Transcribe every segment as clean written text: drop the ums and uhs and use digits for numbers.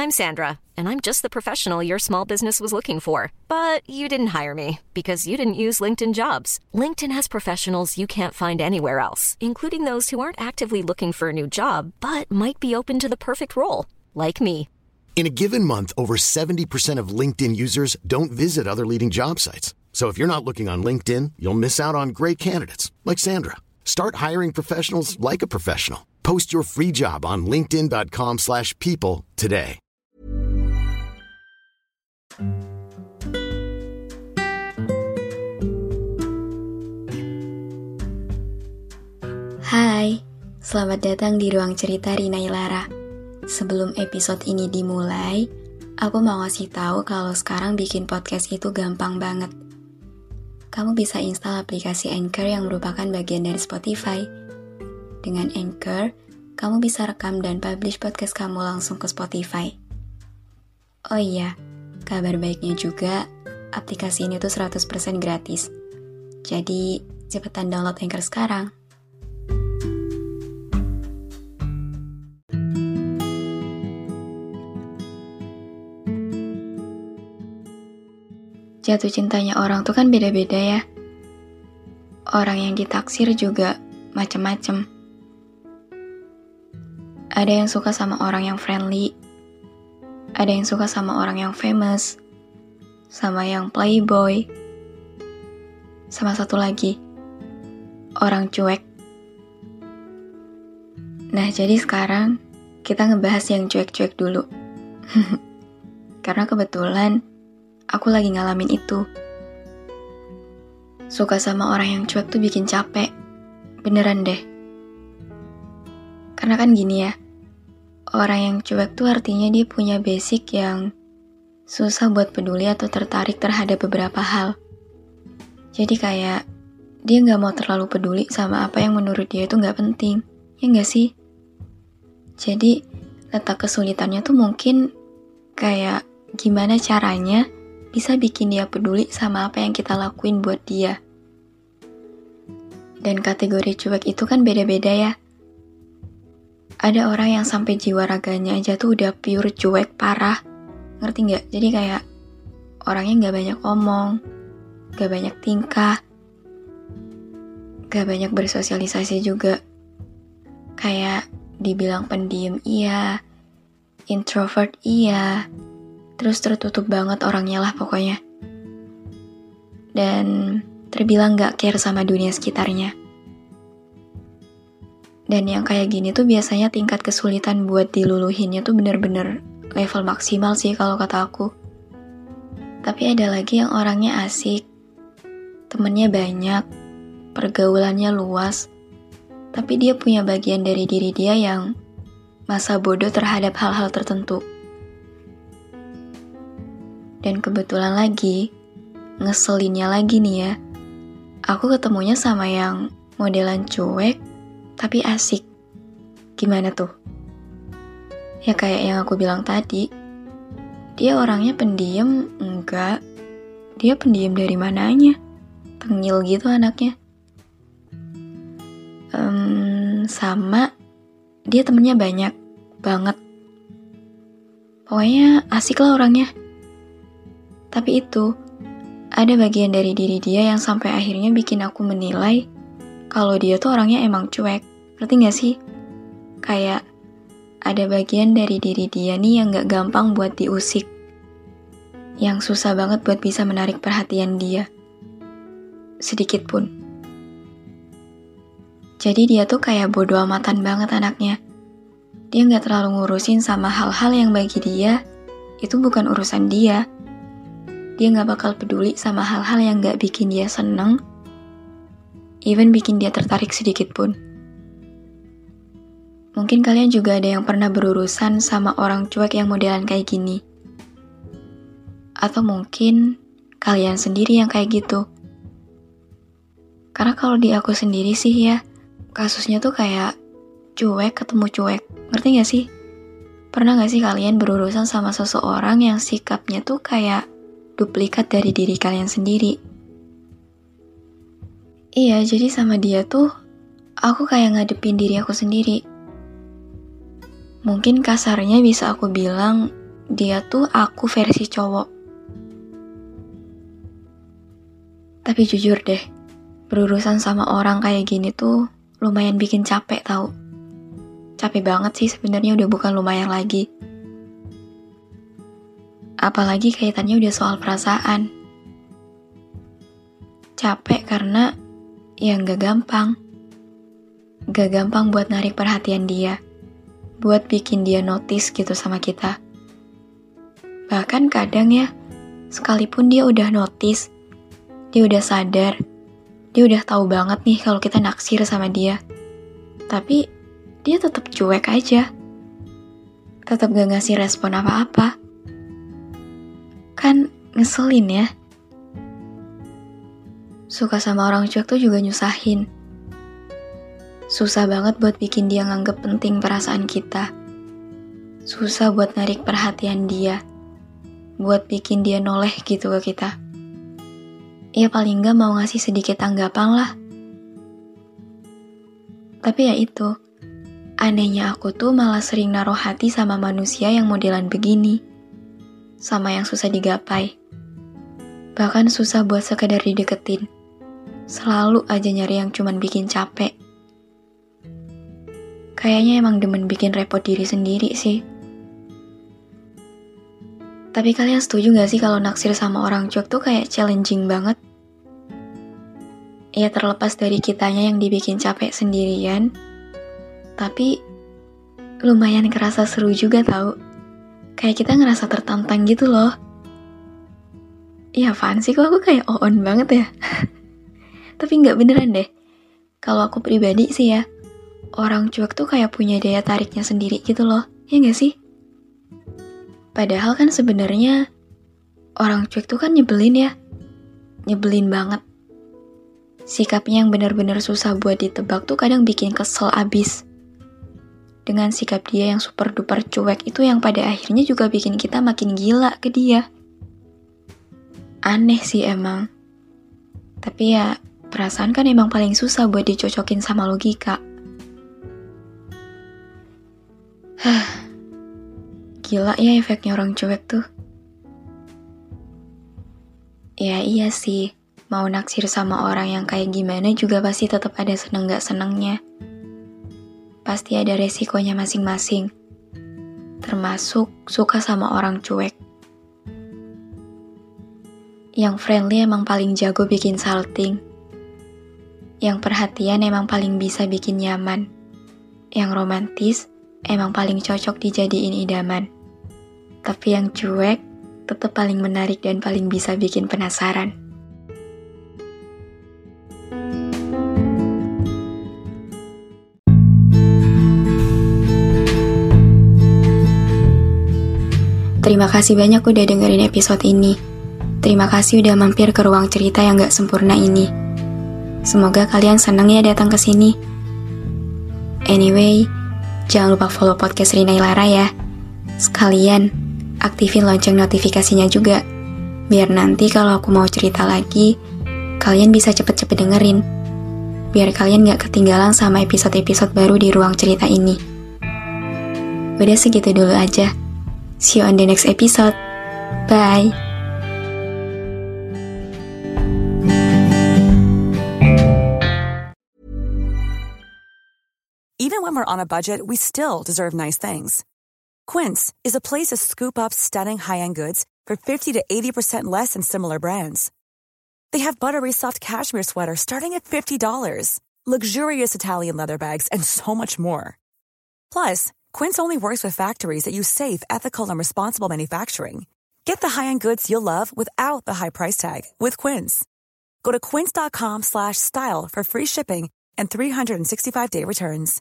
I'm Sandra, and I'm just the professional your small business was looking for. But you didn't hire me because you didn't use LinkedIn Jobs. LinkedIn has professionals you can't find anywhere else, including those who aren't actively looking for a new job, but might be open to the perfect role, like me. In a given month, over 70% of LinkedIn users don't visit other leading job sites. So if you're not looking on LinkedIn, you'll miss out on great candidates like Sandra. Start hiring professionals like a professional. Post your free job on linkedin.com/people today. Hai, selamat datang di Ruang Cerita Rina Ilara. Sebelum episode ini dimulai, aku mau ngasih tahu kalau sekarang bikin podcast itu gampang banget. Kamu bisa install aplikasi Anchor yang merupakan bagian dari Spotify. Dengan Anchor, kamu bisa rekam dan publish podcast kamu langsung ke Spotify. Oh iya, kabar baiknya juga, aplikasi ini tuh 100% gratis. Jadi, cepetan download Anchor sekarang. Jatuh cintanya orang tuh kan beda-beda ya. Orang yang ditaksir juga macem-macem. Ada yang suka sama orang yang friendly, ada yang suka sama orang yang famous, sama yang playboy, sama satu lagi, orang cuek. Nah, jadi sekarang kita ngebahas yang cuek-cuek dulu. Karena kebetulan aku lagi ngalamin itu. Suka sama orang yang cuek tuh bikin capek. Beneran deh. Karena kan gini ya, orang yang cuek tuh artinya dia punya basic yang susah buat peduli atau tertarik terhadap beberapa hal. Jadi kayak dia gak mau terlalu peduli sama apa yang menurut dia itu gak penting. Ya gak sih? Jadi letak kesulitannya tuh mungkin kayak gimana caranya bisa bikin dia peduli sama apa yang kita lakuin buat dia. Dan kategori cuek itu kan beda-beda ya. Ada orang yang sampai jiwa raganya aja tuh udah pure cuek parah. Ngerti gak? Jadi kayak orangnya gak banyak omong, gak banyak tingkah, gak banyak bersosialisasi juga. Kayak dibilang pendiam iya, introvert iya, terus tertutup banget orangnya lah pokoknya. Dan terbilang gak care sama dunia sekitarnya. Dan yang kayak gini tuh biasanya tingkat kesulitan buat diluluhinnya tuh bener-bener level maksimal sih kalau kata aku. Tapi ada lagi yang orangnya asik, temennya banyak, pergaulannya luas, tapi dia punya bagian dari diri dia yang masa bodoh terhadap hal-hal tertentu. Dan kebetulan lagi, ngeselinnya lagi nih ya, aku ketemunya sama yang modelan cuek, tapi asik. Gimana tuh? Ya kayak yang aku bilang tadi, dia orangnya pendiam, enggak. Dia pendiam dari mananya? Tengil gitu anaknya. Sama, dia temennya banyak banget. Pokoknya asik lah orangnya. Tapi itu, ada bagian dari diri dia yang sampai akhirnya bikin aku menilai kalau dia tuh orangnya emang cuek. Ngerti gak sih? Kayak ada bagian dari diri dia nih yang gak gampang buat diusik. Yang susah banget buat bisa menarik perhatian dia. Sedikit pun. Jadi dia tuh kayak bodo amatan banget anaknya. Dia gak terlalu ngurusin sama hal-hal yang bagi dia itu bukan urusan dia. Dia gak bakal peduli sama hal-hal yang gak bikin dia seneng, even bikin dia tertarik sedikit pun. Mungkin kalian juga ada yang pernah berurusan sama orang cuek yang modelan kayak gini. Atau mungkin kalian sendiri yang kayak gitu. Karena kalau di aku sendiri sih ya, kasusnya tuh kayak cuek ketemu cuek. Ngerti gak sih? Pernah gak sih kalian berurusan sama seseorang yang sikapnya tuh kayak duplikat dari diri kalian sendiri? Iya, jadi sama dia tuh aku kayak ngadepin diri aku sendiri. Mungkin kasarnya bisa aku bilang dia tuh aku versi cowok. Tapi jujur deh, berurusan sama orang kayak gini tuh lumayan bikin capek tau. Capek banget sih sebenarnya, udah bukan lumayan lagi. Apalagi kaitannya udah soal perasaan. Capek karena ya gak gampang. Gak gampang buat narik perhatian dia, buat bikin dia notice gitu sama kita. Bahkan kadang ya, sekalipun dia udah notice, dia udah sadar, dia udah tahu banget nih kalau kita naksir sama dia. Tapi dia tetap cuek aja. Tetap gak ngasih respon apa-apa. Kan ngeselin ya. Suka sama orang cuek tuh juga nyusahin. Susah banget buat bikin dia nganggep penting perasaan kita. Susah buat narik perhatian dia. Buat bikin dia noleh gitu ke kita. Ya paling gak mau ngasih sedikit tanggapan lah. Tapi ya itu, anehnya aku tuh malah sering naruh hati sama manusia yang modelan begini. Sama yang susah digapai. Bahkan susah buat sekedar dideketin. Selalu aja nyari yang cuman bikin capek. Kayaknya emang demen bikin repot diri sendiri sih. Tapi kalian setuju gak sih kalau naksir sama orang cuek tuh kayak challenging banget? Ya terlepas dari kitanya yang dibikin capek sendirian, tapi lumayan kerasa seru juga tau. Kayak kita ngerasa tertantang gitu loh. Iya apaan sih, kok aku kayak on banget ya? Tapi gak beneran deh. Kalau aku pribadi sih ya, orang cuek tuh kayak punya daya tariknya sendiri gitu loh. Ya gak sih? Padahal kan sebenarnya orang cuek tuh kan nyebelin ya. Nyebelin banget. Sikapnya yang benar-benar susah buat ditebak tuh kadang bikin kesel abis. Dengan sikap dia yang super duper cuek itu yang pada akhirnya juga bikin kita makin gila ke dia. Aneh sih emang. Tapi ya perasaan kan emang paling susah buat dicocokin sama logika. Gila ya efeknya orang cuek tuh. Ya iya sih, mau naksir sama orang yang kayak gimana juga pasti tetap ada seneng gak senengnya. Pasti ada resikonya masing-masing. Termasuk suka sama orang cuek. Yang friendly emang paling jago bikin salting. Yang perhatian emang paling bisa bikin nyaman. Yang romantis emang paling cocok dijadiin idaman. Tapi yang cuek tetap paling menarik dan paling bisa bikin penasaran. Terima kasih banyak udah dengerin episode ini. Terima kasih udah mampir ke ruang cerita yang gak sempurna ini. Semoga kalian seneng ya datang ke sini. Anyway, jangan lupa follow podcast Rina Ilara ya. Sekalian aktifin lonceng notifikasinya juga. Biar nanti kalau aku mau cerita lagi, kalian bisa cepet-cepet dengerin. Biar kalian gak ketinggalan sama episode-episode baru di ruang cerita ini. Udah segitu dulu aja. See you on the next episode. Bye. Even when we're on a budget, we still deserve nice things. Quince is a place to scoop up stunning high-end goods for 50 to 80% less than similar brands. They have buttery soft cashmere sweaters starting at $50, luxurious Italian leather bags, and so much more. Plus, Quince only works with factories that use safe, ethical, and responsible manufacturing. Get the high-end goods you'll love without the high price tag with Quince. Go to quince.com/style for free shipping and 365-day returns.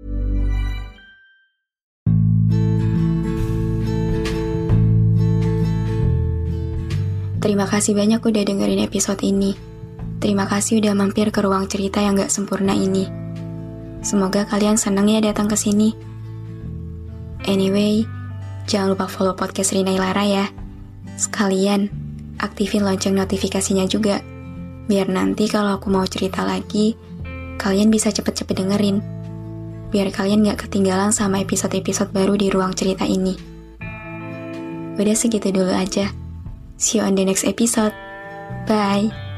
Terima kasih banyak udah dengerin episode ini. Terima kasih udah mampir ke ruang cerita yang gak sempurna ini. Semoga kalian seneng ya datang ke sini. Anyway, jangan lupa follow podcast Rina Ilara ya. Sekalian aktifin lonceng notifikasinya juga. Biar nanti kalau aku mau cerita lagi, kalian bisa cepet-cepet dengerin. Biar kalian gak ketinggalan sama episode-episode baru di ruang cerita ini. Udah segitu dulu aja. See you on the next episode. Bye.